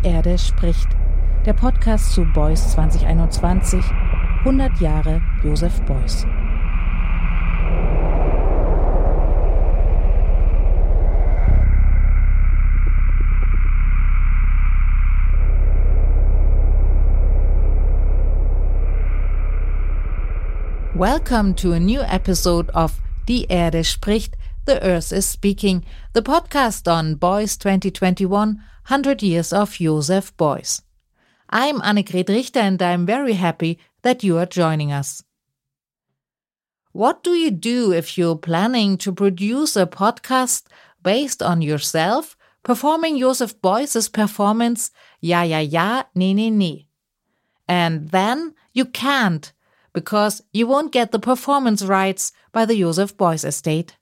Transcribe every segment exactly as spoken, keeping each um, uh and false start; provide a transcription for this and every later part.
Erde spricht, der Podcast zu Beuys zwanzig einundzwanzig, hundert Jahre Joseph Beuys. Welcome to a new episode of Die Erde spricht, The Earth is Speaking, the podcast on Beuys twenty twenty-one, one hundred Years of Joseph Beuys. I'm Annegret Richter and I'm very happy that you are joining us. What do you do if you're planning to produce a podcast based on yourself performing Joseph Beuys' performance Ja, ja, ja, nee, nee, nee? And then you can't, because you won't get the performance rights by the Joseph Beuys estate.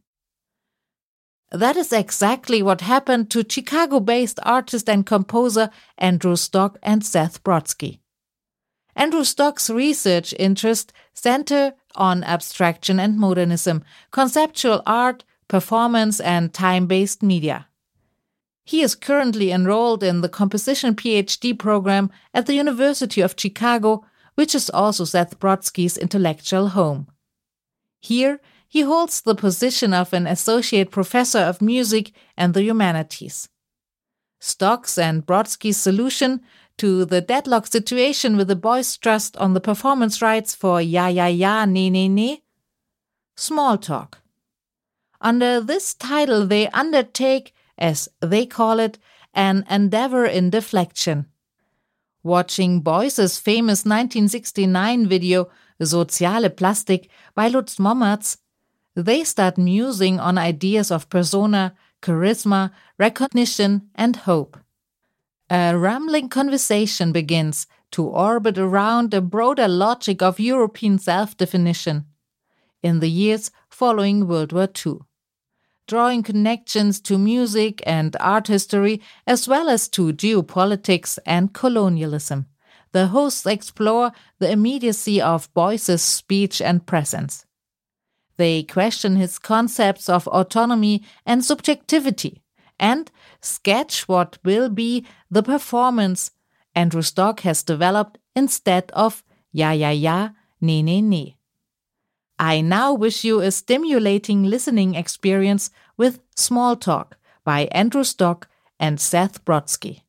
That is exactly what happened to Chicago-based artist and composer Andrew Stock and Seth Brodsky. Andrew Stock's research interests center on abstraction and modernism, conceptual art, performance, and time-based media. He is currently enrolled in the composition PhD program at the University of Chicago, which is also Seth Brodsky's intellectual home. Here, he holds the position of an associate professor of music and the humanities. Stock's and Brodsky's solution to the deadlock situation with the Beuys Trust on the performance rights for Ja, ja, ja, nee, nee, nee? Small talk. Under this title, they undertake, as they call it, an endeavor in deflection. Watching Beuys' famous nineteen sixty-nine video Soziale Plastik by Lutz Mommertz, they start musing on ideas of persona, charisma, recognition, and hope. A rambling conversation begins to orbit around a broader logic of European self-definition in the years following World War Two, drawing connections to music and art history as well as to geopolitics and colonialism. The hosts explore the immediacy of Beuys' speech and presence. They question his concepts of autonomy and subjectivity and sketch what will be the performance Andrew Stock has developed instead of Ja, ja, ja, nee, nee, nee. I now wish you a stimulating listening experience with Small Talk by Andrew Stock and Seth Brodsky.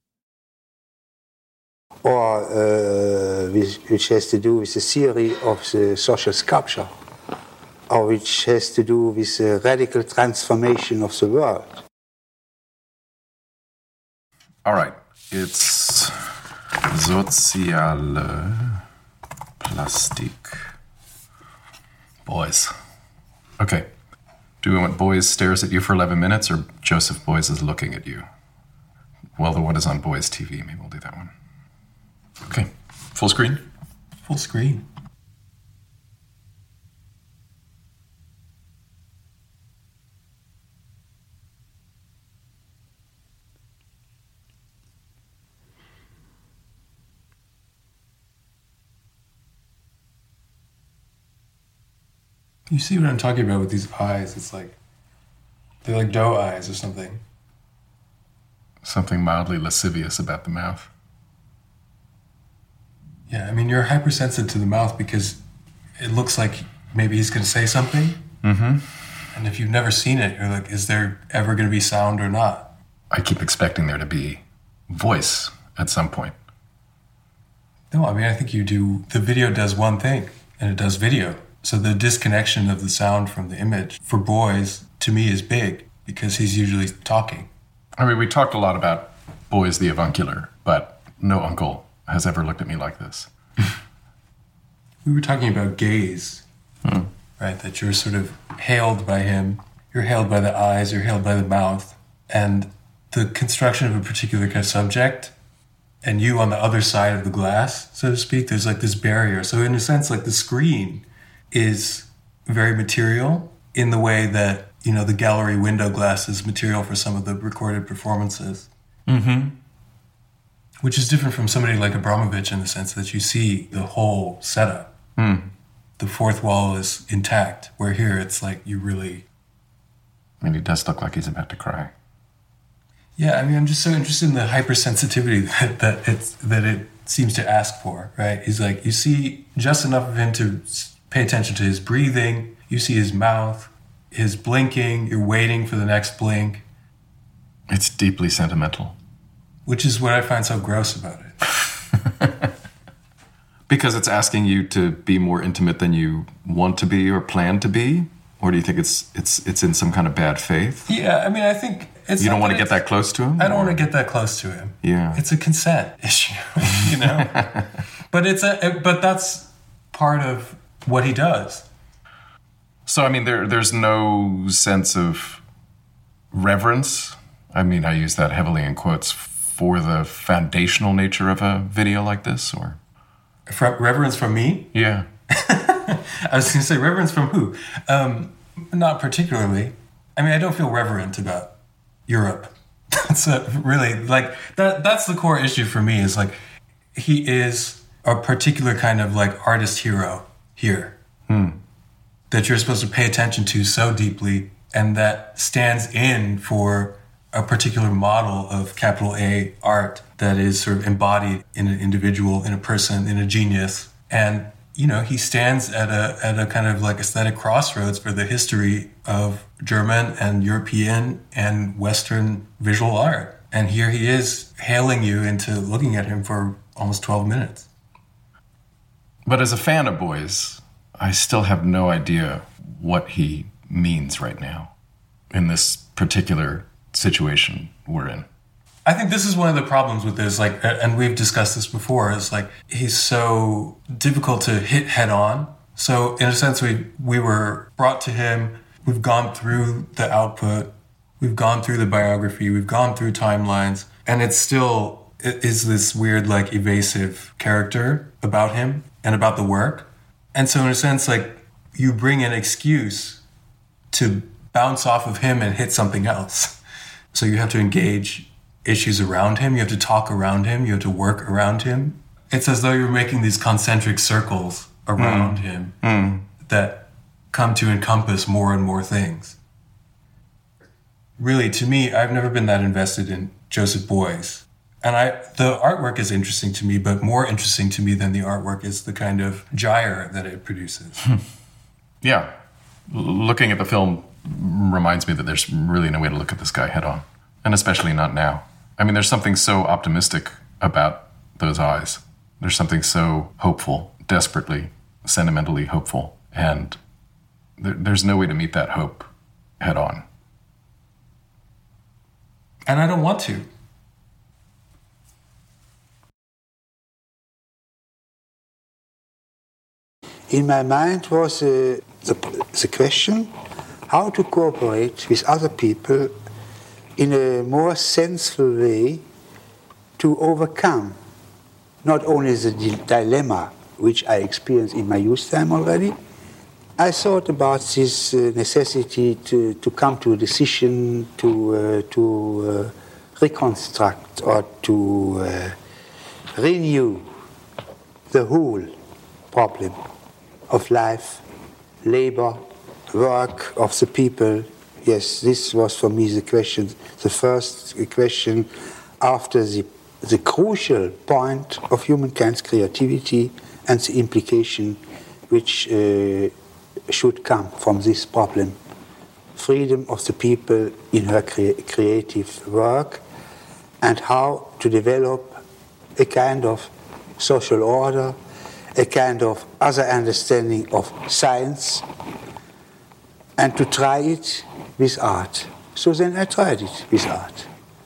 Or uh, which has to do with the theory of the social sculpture, or which has to do with the radical transformation of the world. All right, it's Soziale Plastik. Beuys. Okay. Do we want Beuys stares at you for eleven minutes or Joseph Beuys is looking at you? Well, the one is on Beuys T V. Maybe we'll do that one. Okay. Full screen? Full screen. You see what I'm talking about with these eyes? It's like, they're like doe eyes or something. Something mildly lascivious about the mouth. Yeah, I mean, you're hypersensitive to the mouth because it looks like maybe he's going to say something. Mm-hmm. And if you've never seen it, you're like, is there ever going to be sound or not? I keep expecting there to be voice at some point. No, I mean, I think you do, the video does one thing, and it does video. So the disconnection of the sound from the image for Beuys, to me, is big because he's usually talking. I mean, we talked a lot about Beuys the avuncular, but no uncle has ever looked at me like this. We were talking about gaze, hmm. right? That you're sort of hailed by him. You're hailed by the eyes, you're hailed by the mouth. And the construction of a particular kind of subject, and you on the other side of the glass, so to speak, there's like this barrier. So in a sense, like the screen is very material in the way that, you know, the gallery window glass is material for some of the recorded performances. Mm-hmm. Which is different from somebody like Abramovich in the sense that you see the whole setup. Mm. The fourth wall is intact, where here it's like you really... I mean, he does look like he's about to cry. Yeah, I mean, I'm just so interested in the hypersensitivity that, that it's that it seems to ask for, right? He's like, you see just enough of him to pay attention to his breathing. You see his mouth, his blinking. You're waiting for the next blink. It's deeply sentimental. Which is what I find so gross about it. Because it's asking you to be more intimate than you want to be or plan to be? Or do you think it's it's it's in some kind of bad faith? Yeah, I mean, I think it's... You don't want to get that close to him? I don't or? want to get that close to him. Yeah. It's a consent issue, you know? But it's a but that's part of what he does. So, I mean, there there's no sense of reverence. I mean, I use that heavily in quotes for the foundational nature of a video like this, or... From reverence from me? Yeah. I was going to say, reverence from who? Um, not particularly. I mean, I don't feel reverent about Europe. That's a, really, like, that. that's the core issue for me, is like, he is a particular kind of, like, artist hero here. Hmm. That you're supposed to pay attention to so deeply, and that stands in for a particular model of capital A art that is sort of embodied in an individual, in a person, in a genius. And, you know, he stands at a at a kind of like aesthetic crossroads for the history of German and European and Western visual art. And here he is hailing you into looking at him for almost twelve minutes. But as a fan of Beuys, I still have no idea what he means right now in this particular situation we're in. I think this is one of the problems with this, like, and we've discussed this before, is like, he's so difficult to hit head on. So in a sense, we we were brought to him, we've gone through the output, we've gone through the biography, we've gone through timelines, and it's still, it is this weird, like, evasive character about him and about the work. And so in a sense, like, you bring an excuse to bounce off of him and hit something else. So you have to engage issues around him. You have to talk around him. You have to work around him. It's as though you're making these concentric circles around mm. him mm. that come to encompass more and more things. Really, to me, I've never been that invested in Joseph Beuys. And I, the artwork is interesting to me, but more interesting to me than the artwork is the kind of gyre that it produces. Yeah. L- looking at the film reminds me that there's really no way to look at this guy head on, and especially not now. I mean, there's something so optimistic about those eyes. There's something so hopeful, desperately, sentimentally hopeful, and there, there's no way to meet that hope head on. And I don't want to. In my mind was uh, the, the question how to cooperate with other people in a more sensible way to overcome not only the di- dilemma which I experienced in my youth time already. I thought about this uh, necessity to, to come to a decision, to, uh, to uh, reconstruct or to uh, renew the whole problem of life, labor, work of the people. Yes, this was for me the question, the first question after the, the crucial point of humankind's creativity and the implication which uh, should come from this problem. Freedom of the people in her crea- creative work, and how to develop a kind of social order, a kind of other understanding of science, and to try it with art. So then I tried it with art.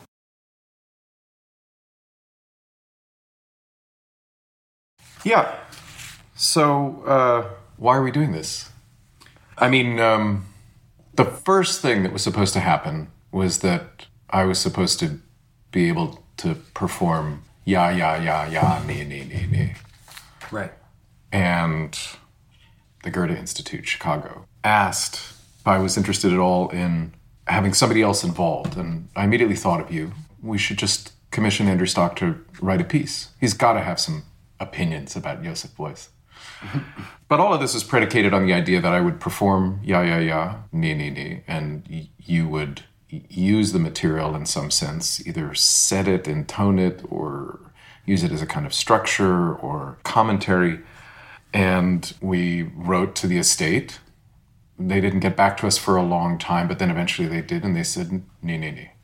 Yeah. So, uh, why are we doing this? I mean, um, the first thing that was supposed to happen was that I was supposed to be able to perform ya, ya, ya, ya, ne, ne, ne, ne. Right. And the Goethe Institute, Chicago, asked if I was interested at all in having somebody else involved. And I immediately thought of you. We should just commission Andrew Stock to write a piece. He's got to have some opinions about Joseph Beuys. But all of this is predicated on the idea that I would perform ya, ya, ya, ne, ne, ne, and y- you would use the material in some sense, either set it, intone it, or use it as a kind of structure or commentary. And we wrote to the estate. They didn't get back to us for a long time, but then eventually they did, and they said, nee, nee, nee.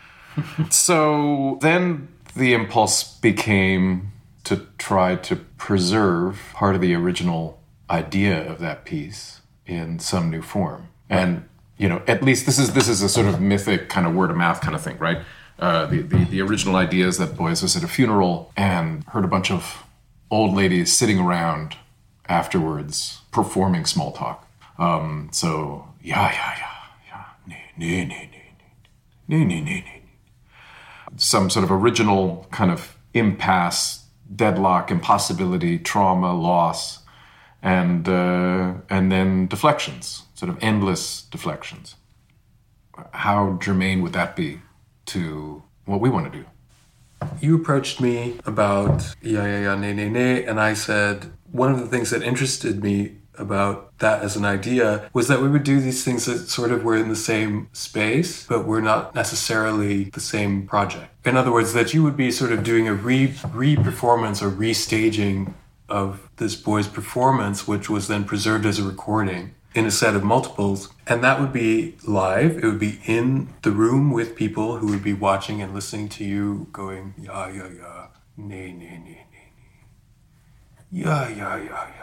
So then the impulse became to try to preserve part of the original idea of that piece in some new form. And, you know, at least this is this is a sort of mythic kind of word of mouth kind of thing, right? Uh, the, the, the original idea is that Beuys was at a funeral and heard a bunch of old ladies sitting around afterwards performing small talk. Um, so, yeah, yeah, yeah, yeah, nee, nee, nee, nee, nee, nee, nee, nee. Some sort of original kind of impasse, deadlock, impossibility, trauma, loss, and uh, and then deflections, sort of endless deflections. How germane would that be to what we want to do? You approached me about yeah, yeah, yeah, nee, nee, nee, and I said one of the things that interested me about that as an idea was that we would do these things that sort of were in the same space, but were not necessarily the same project. In other words, that you would be sort of doing a re re-performance or restaging of this Beuys performance, which was then preserved as a recording in a set of multiples. And that would be live. It would be in the room with people who would be watching and listening to you going, yeah, yeah, yeah, nee, nee, nee, nee, nee. Yeah, yeah, yeah, yeah.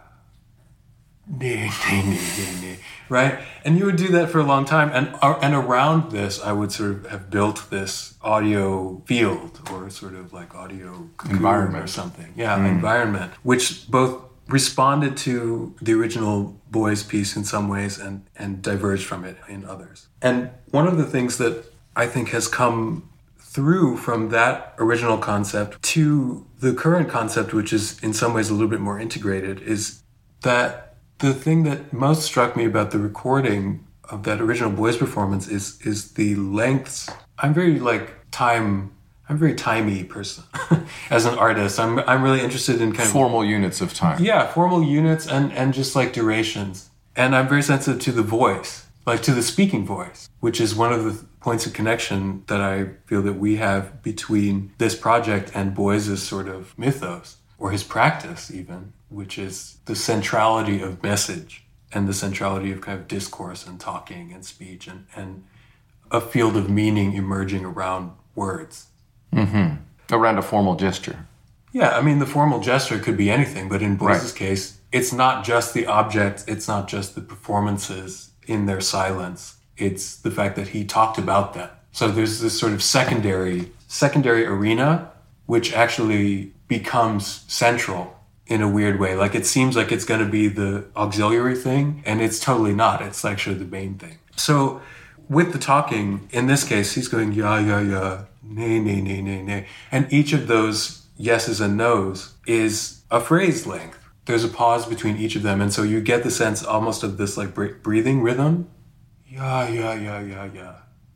Nee, nee, nee, nee, nee. Right? And you would do that for a long time. And uh, and around this, I would sort of have built this audio field or sort of like audio environment or something. Yeah, mm. environment, which both responded to the original Beuys piece in some ways and, and diverged from it in others. And one of the things that I think has come through from that original concept to the current concept, which is in some ways a little bit more integrated, is that the thing that most struck me about the recording of that original Beuys performance is is the lengths. I'm very like time. I'm a very timey person as an artist. I'm I'm really interested in kind of formal units of time. Yeah, formal units and and just like durations. And I'm very sensitive to the voice, like to the speaking voice, which is one of the points of connection that I feel that we have between this project and Beuys' sort of mythos, or his practice even, which is the centrality of message and the centrality of kind of discourse and talking and speech and, and a field of meaning emerging around words. Mm-hmm. Around a formal gesture. Yeah, I mean, the formal gesture could be anything, but in Beuys' Right. case, it's not just the object, it's not just the performances in their silence, it's the fact that he talked about them. So there's this sort of secondary, secondary arena, which actually becomes central in a weird way. Like it seems like it's going to be the auxiliary thing, and it's totally not. It's actually the main thing. So with the talking, in this case, he's going, yeah, yeah, yeah, nay, nay, nay, nay, nay. And each of those yeses and nos is a phrase length. There's a pause between each of them. And so you get the sense almost of this like breathing rhythm. Yeah, yeah, yeah, yeah, yeah.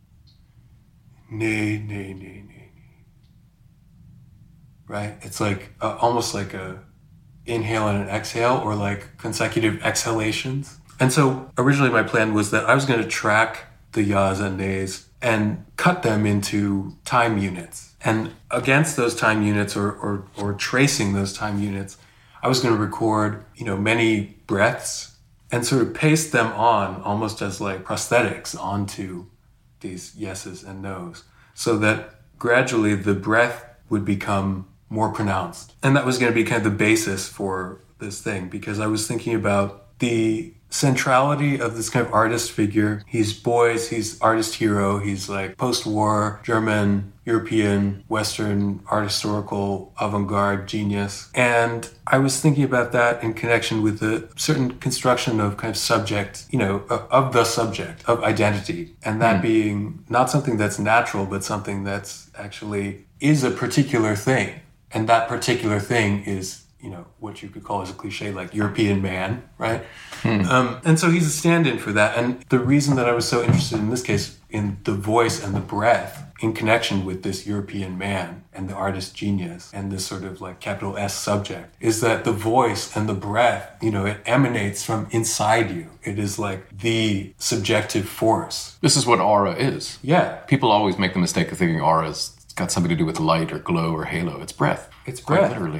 Nay, nay, nay, nay, nay. Right? It's like uh, almost like a inhale and an exhale, or like consecutive exhalations. And so originally my plan was that I was going to track the yas and nays and cut them into time units. And against those time units, or, or, or tracing those time units, I was going to record, you know, many breaths and sort of paste them on almost as like prosthetics onto these yeses and nos, so that gradually the breath would become more pronounced. And that was going to be kind of the basis for this thing, because I was thinking about the centrality of this kind of artist figure. He's Beuys, he's artist hero, he's like post-war German, European, Western art historical avant-garde genius. And I was thinking about that in connection with a certain construction of kind of subject, you know, of the subject, of identity. And that mm. being not something that's natural, but something that's actually is a particular thing. And that particular thing is, you know, what you could call as a cliche, like European man, right? Hmm. Um, and so he's a stand-in for that. And the reason that I was so interested in this case in the voice and the breath in connection with this European man and the artist genius and this sort of like capital S subject is that the voice and the breath, you know, it emanates from inside you. It is like the subjective force. This is what aura is. Yeah. People always make the mistake of thinking aura's got something to do with light or glow or halo. It's breath. It's Quite breath. literally.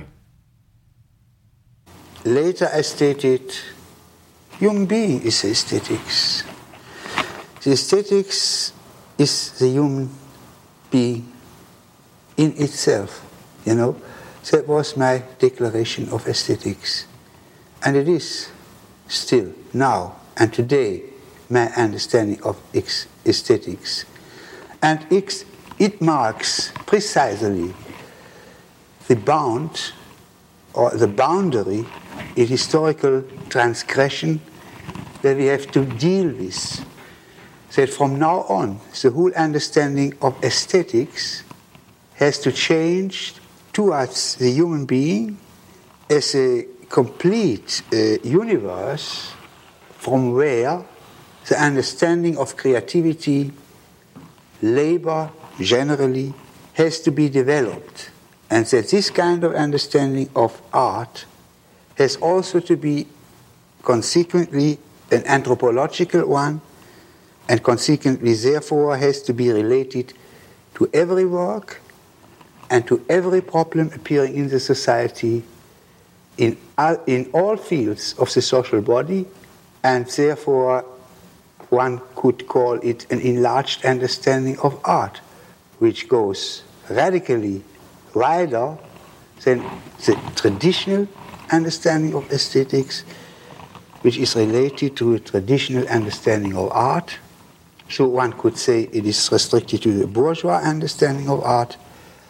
Later I stated, human being is aesthetics. The aesthetics is the human being in itself, you know. That was my declaration of aesthetics. And it is still, now and today, my understanding of aesthetics. And it marks precisely the bound or the boundary in historical transgression that we have to deal with. That from now on, the whole understanding of aesthetics has to change towards the human being as a complete uh, universe from where the understanding of creativity, labor generally, has to be developed. And that this kind of understanding of art has also to be consequently an anthropological one, and consequently therefore has to be related to every work and to every problem appearing in the society in all, in all fields of the social body, and therefore one could call it an enlarged understanding of art, which goes radically wider than the traditional understanding of aesthetics, which is related to a traditional understanding of art. So one could say it is restricted to the bourgeois understanding of art,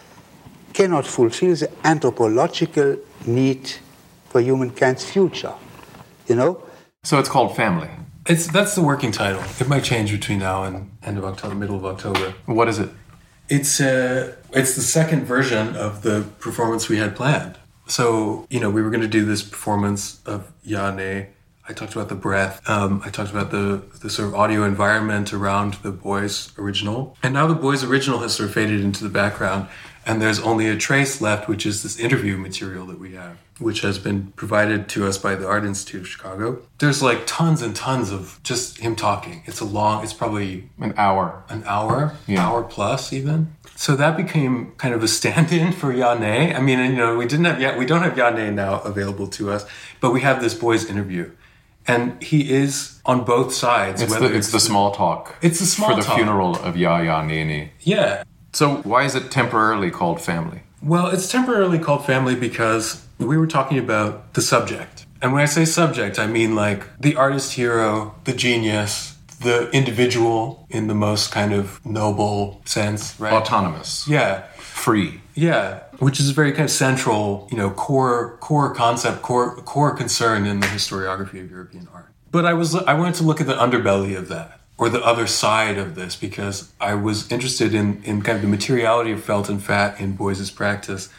cannot fulfill the anthropological need for humankind's future, you know? So it's called Family. It's that's the working title. It might change between now and end of October, middle of October. What is it? It's uh, it's the second version of the performance we had planned. So, you know, we were going to do this performance of Ja, Nee. I talked about the breath. Um, I talked about the, the sort of audio environment around the Boys original. And now the Boys original has sort of faded into the background. And there's only a trace left, which is this interview material that we have, which has been provided to us by the Art Institute of Chicago. There's like tons and tons of just him talking. It's a long, it's probably An hour. an hour, Yeah. hour plus even. So that became kind of a stand-in for Ja, Nee. I mean, you know, we didn't have yet, we don't have Ja, Nee now available to us, but we have this Boys interview. And he is on both sides. It's whether the, it's the small talk. It's the small For the talk. funeral of Ja, Ja, Nee, Nee. Yeah. So why is it temporarily called Family? Well, it's temporarily called Family because we were talking about the subject. And when I say subject, I mean like the artist hero, the genius, the individual in the most kind of noble sense, right? Autonomous. Yeah. Free. Yeah, which is a very kind of central, you know, core core concept, core core concern in the historiography of European art. But I was I wanted to look at the underbelly of that, or the other side of this, because I was interested in in kind of the materiality of felt and fat in Beuys's practice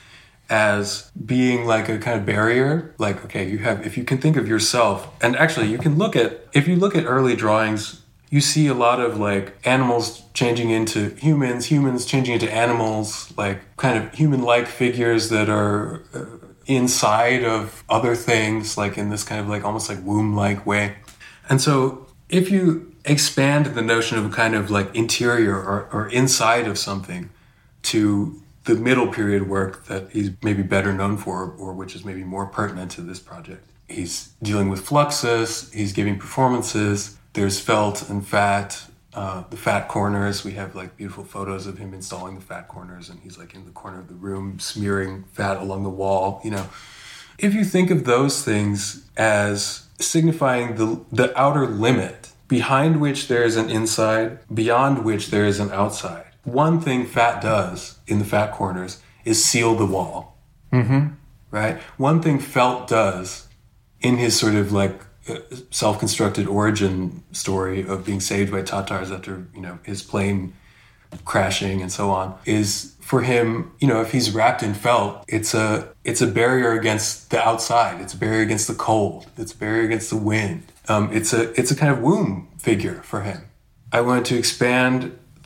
as being like a kind of barrier. Like, okay, you have, if you can think of yourself, and actually you can look at, if you look at early drawings, you see a lot of like animals changing into humans, humans changing into animals, like kind of human-like figures that are uh, inside of other things, like in this kind of like almost like womb-like way. And so if you expand the notion of a kind of like interior or, or inside of something to the middle period work that he's maybe better known for, or which is maybe more pertinent to this project, he's dealing with fluxus, he's giving performances. There's felt and fat, uh, the fat corners. We have like beautiful photos of him installing the fat corners, and he's like in the corner of the room smearing fat along the wall, you know. If you think of those things as signifying the the outer limit, behind which there is an inside, beyond which there is an outside, one thing fat does in the fat corners is seal the wall, Mm-hmm. right? One thing felt does in his sort of like self-constructed origin story of being saved by Tatars after, you know, his plane crashing and so on, is for him, you know, if he's wrapped in felt, it's a it's a barrier against the outside. It's a barrier against the cold. It's a barrier against the wind. Um, it's a it's a kind of womb figure for him. I wanted to expand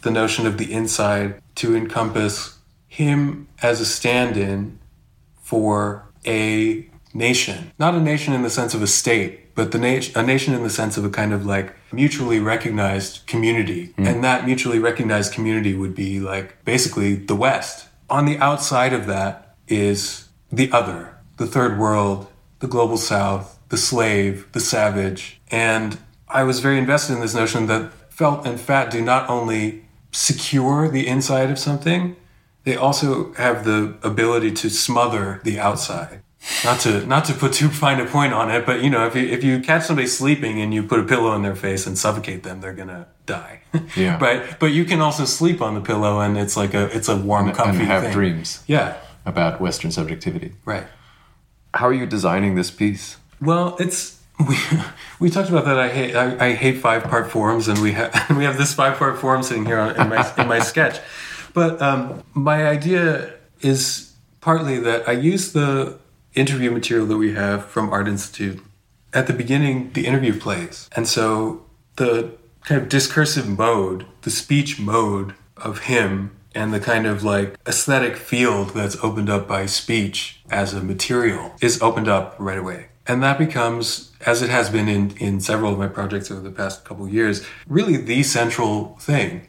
the notion of the inside to encompass him as a stand-in for a nation. Not a nation in the sense of a state, but the na- a nation in the sense of a kind of like mutually recognized community. Mm. And that mutually recognized community would be like basically the West. On the outside of that is the other, the third world, the global South, the slave, the savage. And I was very invested in this notion that felt and fat do not only secure the inside of something, they also have the ability to smother the outside. Not to not to put too fine a point on it, but you know, if you if you catch somebody sleeping and you put a pillow in their face and suffocate them, they're gonna die. Yeah. But but you can also sleep on the pillow and it's like a it's a warm, and, comfy and have thing. dreams. Yeah. About Western subjectivity. Right. How are you designing this piece? Well, it's we we talked about that. I hate I, I hate five part forms, and we have we have this five part form sitting here on, in my in my sketch. But um, my idea is partly that I use the interview material that we have from Art Institute. At the beginning, the interview plays, and so the kind of discursive mode, the speech mode of him, and the kind of like aesthetic field that's opened up by speech as a material is opened up right away. And that becomes, as it has been in, in several of my projects over the past couple of years, really the central thing.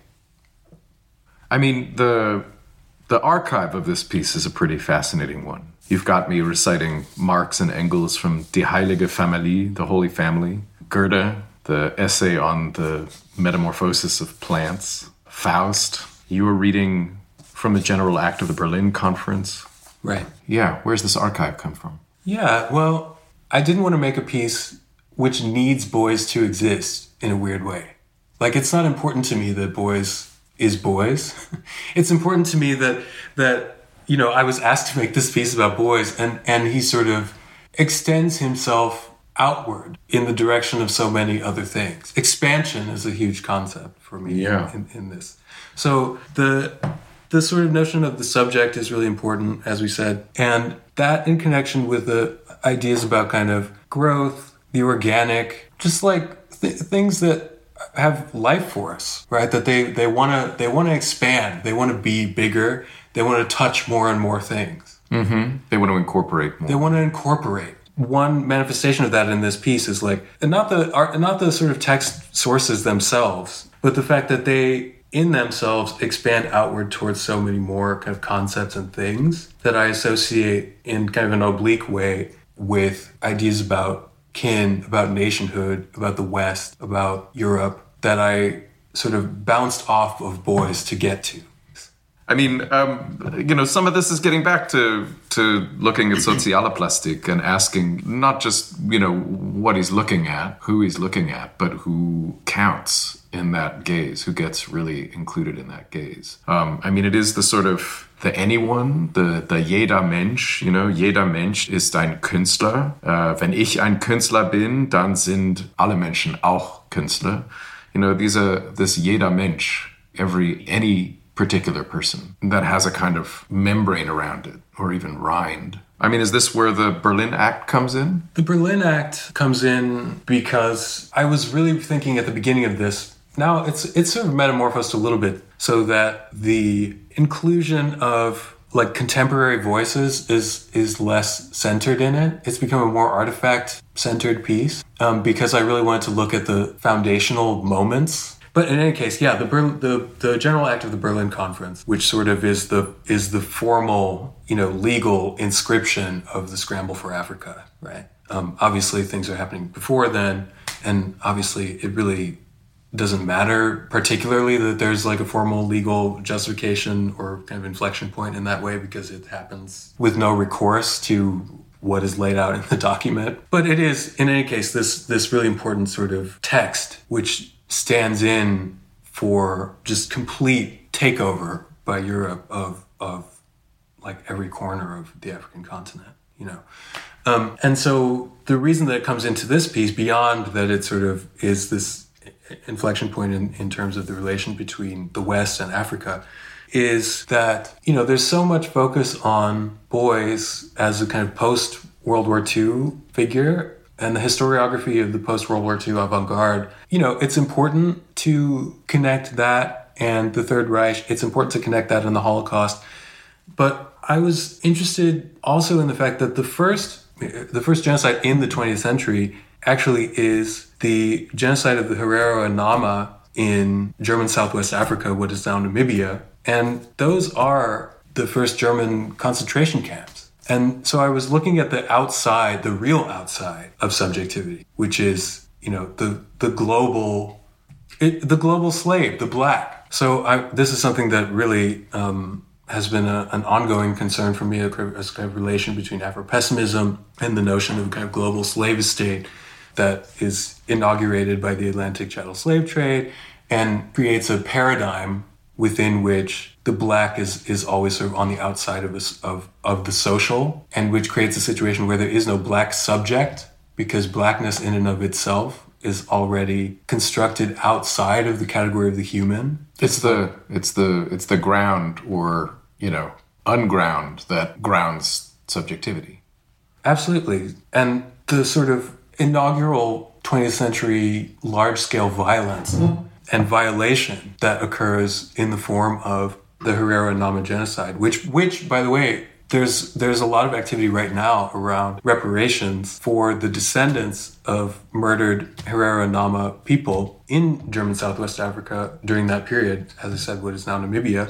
I mean, the the archive of this piece is a pretty fascinating one. You've got me reciting Marx and Engels from Die Heilige Familie, the Holy Family, Goethe, the essay on the metamorphosis of plants, Faust. You were reading from the General Act of the Berlin Conference. Right. Yeah, where's this archive come from? Yeah, well, I didn't want to make a piece which needs Boys to exist in a weird way. Like, it's not important to me that Boys is Boys. It's important to me that, that you know, I was asked to make this piece about Boys, and, and he sort of extends himself outward in the direction of so many other things. Expansion is a huge concept for me yeah. in, in this. So the the sort of notion of the subject is really important, as we said, and that in connection with the ideas about kind of growth, the organic, just like th- things that have life for us, right? That they they want to they want to expand, they want to be bigger, they want to touch more and more things. Mm-hmm. They want to incorporate more. They want to incorporate. One manifestation of that in this piece is like, and not the art, not the sort of text sources themselves, but the fact that they, in themselves, expand outward towards so many more kind of concepts and things that I associate in kind of an oblique way with ideas about kin, about nationhood, about the West, about Europe, that I sort of bounced off of Boys to get to. I mean, um, you know, some of this is getting back to to looking at Sozialplastik and asking not just, you know, what he's looking at, who he's looking at, but who counts in that gaze, who gets really included in that gaze. Um, I mean, it is the sort of the anyone, the, the jeder Mensch, you know, jeder Mensch ist ein Künstler. Uh, wenn ich ein Künstler bin, dann sind alle Menschen auch Künstler. You know, these are this jeder Mensch, every, any particular person that has a kind of membrane around it, or even rind. I mean, is this where the Berlin Act comes in? The Berlin Act comes in because I was really thinking at the beginning of this. Now it's it's sort of metamorphosed a little bit so that the inclusion of like contemporary voices is is less centered in it. It's become a more artifact-centered piece um, because I really wanted to look at the foundational moments. But in any case, yeah, the, Ber- the the General Act of the Berlin Conference, which sort of is the is the formal, you know, legal inscription of the scramble for Africa, right? Um, obviously, things are happening before then, and obviously, it really doesn't matter particularly that there's like a formal legal justification or kind of inflection point in that way because it happens with no recourse to what is laid out in the document. But it is, in any case, this this really important sort of text, which stands in for just complete takeover by Europe of of like every corner of the African continent, you know. Um, and so the reason that it comes into this piece, beyond that it sort of is this inflection point in, in terms of the relation between the West and Africa, is that, you know, there's so much focus on Boys as a kind of post-World War Two figure and the historiography of the post-World War Two avant-garde. You know, it's important to connect that and the Third Reich. It's important to connect that in the Holocaust. But I was interested also in the fact that the first, the first genocide in the twentieth century actually is the genocide of the Herero and Nama in German Southwest Africa, what is now Namibia. And those are the first German concentration camps. And so I was looking at the outside, the real outside of subjectivity, which is, you know, the the global, it, the global slave, the black. So I, this is something that really um, has been a, an ongoing concern for me, as kind of relation between Afro-pessimism and the notion of a kind of global slave state that is inaugurated by the Atlantic chattel slave trade and creates a paradigm within which the black is is always sort of on the outside of, a, of of the social, and which creates a situation where there is no black subject, because blackness in and of itself is already constructed outside of the category of the human. It's the it's the it's the ground, or, you know, unground, that grounds subjectivity. Absolutely. And the sort of inaugural twentieth century large-scale violence mm-hmm. and violation that occurs in the form of the Herero and Nama genocide, which, which, by the way, there's there's a lot of activity right now around reparations for the descendants of murdered Herero and Nama people in German Southwest Africa during that period, as I said, what is now Namibia,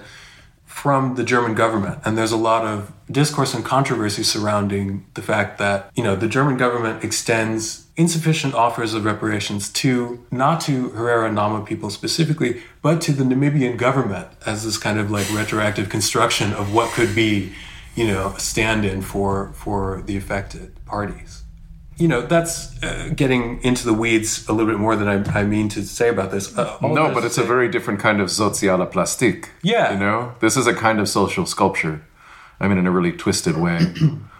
from the German government. And there's a lot of discourse and controversy surrounding the fact that, you know, the German government extends insufficient offers of reparations to, not to Herero and Nama people specifically, but to the Namibian government as this kind of like retroactive construction of what could be, you know, a stand-in for, for the affected parties. You know, that's uh, getting into the weeds a little bit more than I, I mean to say about this. Uh, no, but it's say, a very different kind of soziale Plastik. Yeah. You know, this is a kind of social sculpture. I mean, in a really twisted way,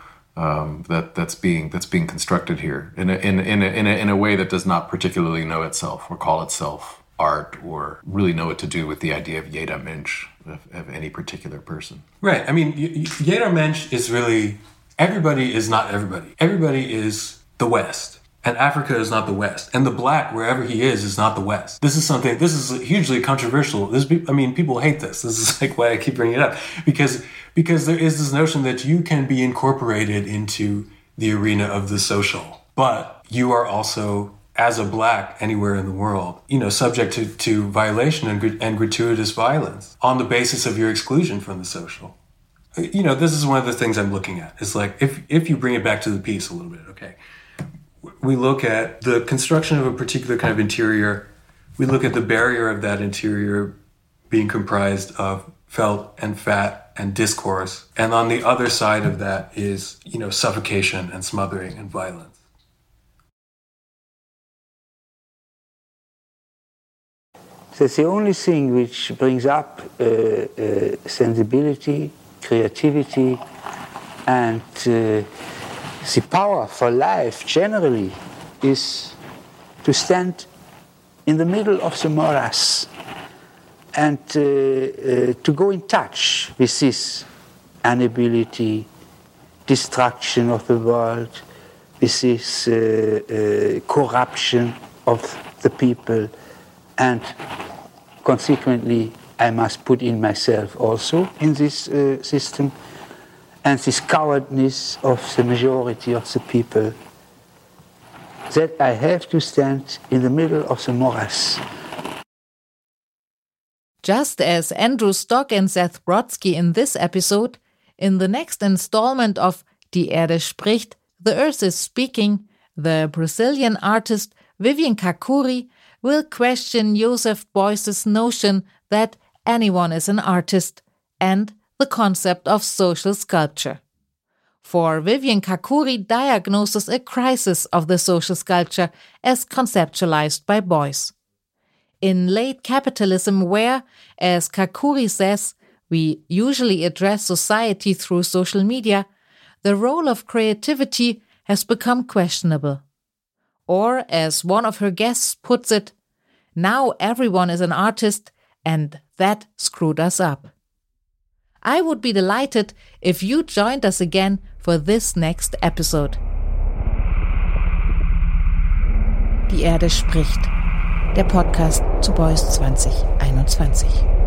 um, that that's being that's being constructed here in a, in in a, in a, in a way that does not particularly know itself or call itself art or really know what to do with the idea of jeder Mensch, of, of any particular person. Right. I mean, jeder Mensch is really, everybody is not everybody. Everybody is the West, and Africa is not the West, and the black, wherever he is, is not the West. This is something, this is hugely controversial. This, I mean, people hate this. This is like why I keep bringing it up, because because there is this notion that you can be incorporated into the arena of the social, but you are also, as a black anywhere in the world, you know, subject to, to violation and, and gratuitous violence on the basis of your exclusion from the social. You know, this is one of the things I'm looking at. It's like, if if you bring it back to the piece a little bit, okay, we look at the construction of a particular kind of interior. We look at the barrier of that interior being comprised of felt and fat and discourse. And on the other side of that is, you know, suffocation and smothering and violence. That's the only thing which brings up uh, uh, sensibility, creativity, and uh, the power for life generally is to stand in the middle of the morass and uh, uh, to go in touch with this inability, destruction of the world, with this uh, uh, corruption of the people, and consequently I must put in myself also in this uh, system, and this cowardness of the majority of the people, that I have to stand in the middle of the morass. Just as Andrew Stock and Seth Brodsky in this episode, in the next installment of Die Erde spricht, The Earth is Speaking, the Brazilian artist Vivian Kakuri will question Joseph Beuys's notion that anyone is an artist and the concept of social sculpture. For Vivian Kakuri diagnoses a crisis of the social sculpture as conceptualized by Beuys. In late capitalism where, as Kakuri says, we usually address society through social media, the role of creativity has become questionable. Or, as one of her guests puts it, now everyone is an artist, and that screwed us up. I would be delighted if you joined us again for this next episode. Die Erde spricht. Der Podcast zu Beuys zwanzig einundzwanzig.